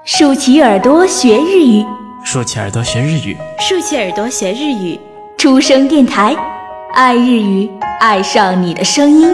竖起耳朵学日语， 竖起耳朵学日语， 竖起耳朵学日语。 出生电台，爱日语，爱上你的声音。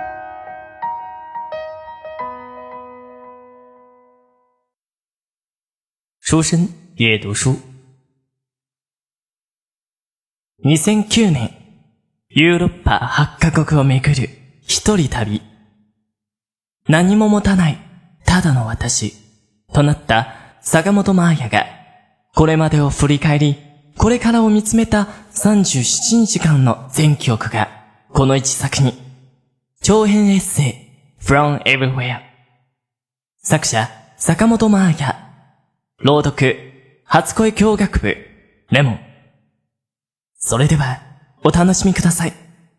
出身阅读书。2009年、ヨーロッパ8カ国を巡る一人旅。何も持たない、ただの私、となった坂本真綾が、これまでを振り返り、これからを見つめた37日間の全記憶が、この一作に、長編エッセイ、From Everywhere。作者、坂本真綾。朗読、初恋教学部、レモン。それでは、お楽しみください。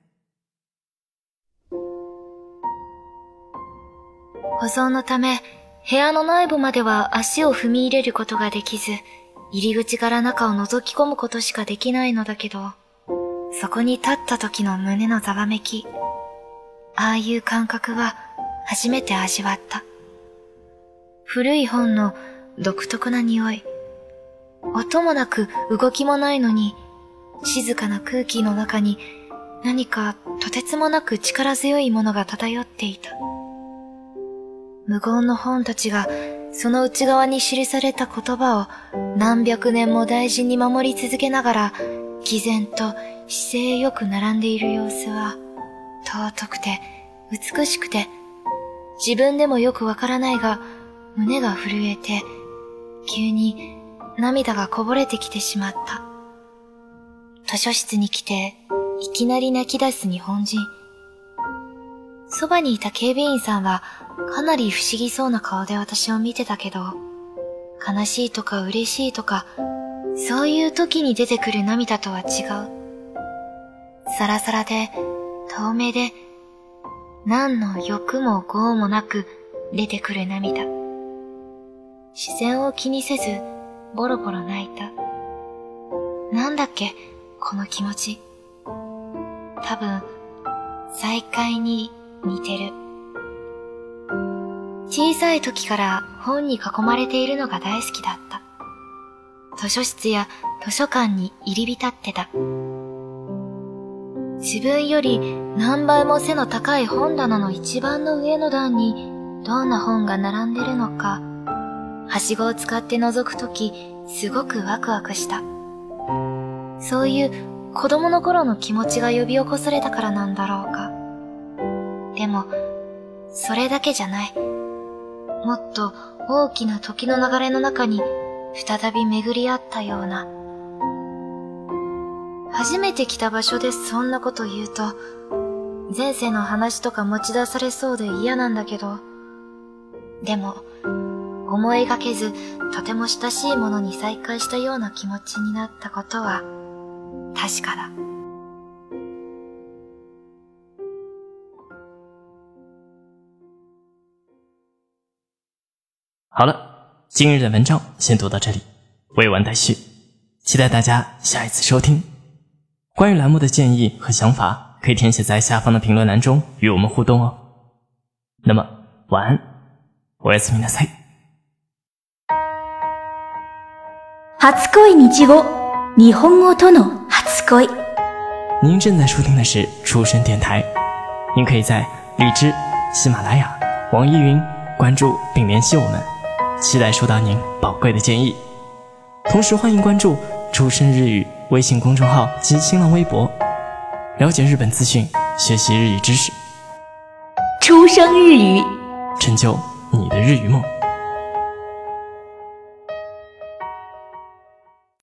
保存のため、部屋の内部までは足を踏み入れることができず、入り口から中を覗き込むことしかできないのだけど、そこに立った時の胸のざわめき、ああいう感覚は初めて味わった。古い本の独特な匂い。音もなく動きもないのに、静かな空気の中に何かとてつもなく力強いものが漂っていた。無言の本たちがその内側に記された言葉を何百年も大事に守り続けながら、毅然と姿勢よく並んでいる様子は、尊くて美しくて、自分でもよくわからないが、胸が震えて、急に涙がこぼれてきてしまった。図書室に来て、いきなり泣き出す日本人。そばにいた警備員さんは、かなり不思議そうな顔で私を見てたけど、悲しいとか嬉しいとか、そういう時に出てくる涙とは違う。サラサラで、透明で、何の欲も業もなく出てくる涙。視線を気にせず、ボロボロ泣いた。なんだっけ、この気持ち。多分、再会に似てる。小さい時から本に囲まれているのが大好きだった。図書室や図書館に入り浸ってた。自分より何倍も背の高い本棚の一番の上の段にどんな本が並んでるのか、はしごを使って覗くときすごくワクワクした。そういう子供の頃の気持ちが呼び起こされたからなんだろうか。でも、それだけじゃない。もっと大きな時の流れの中に再び巡り合ったような。初めて来た場所でそんなこと言うと、前世の話とか持ち出されそうで嫌なんだけど、でも、思いがけずとても親しいものに再会したような気持ちになったことは確かだ。 好了，今日的文章先读到这里，未完待续，期待大家下一次收听。关于栏目的建议和想法，可以填写在下方的评论栏中与我们互动哦。那么，晚安，おやすみなさい。 初恋日語、日本語との初恋。 您正在收听的是出生电台，您可以在荔枝、喜马拉雅、网易云关注并联系我们，期待收到您宝贵的建议。同时欢迎关注出生日语微信公众号及新浪微博，了解日本资讯，学习日语知识， 出生日语， 成就你的日语梦。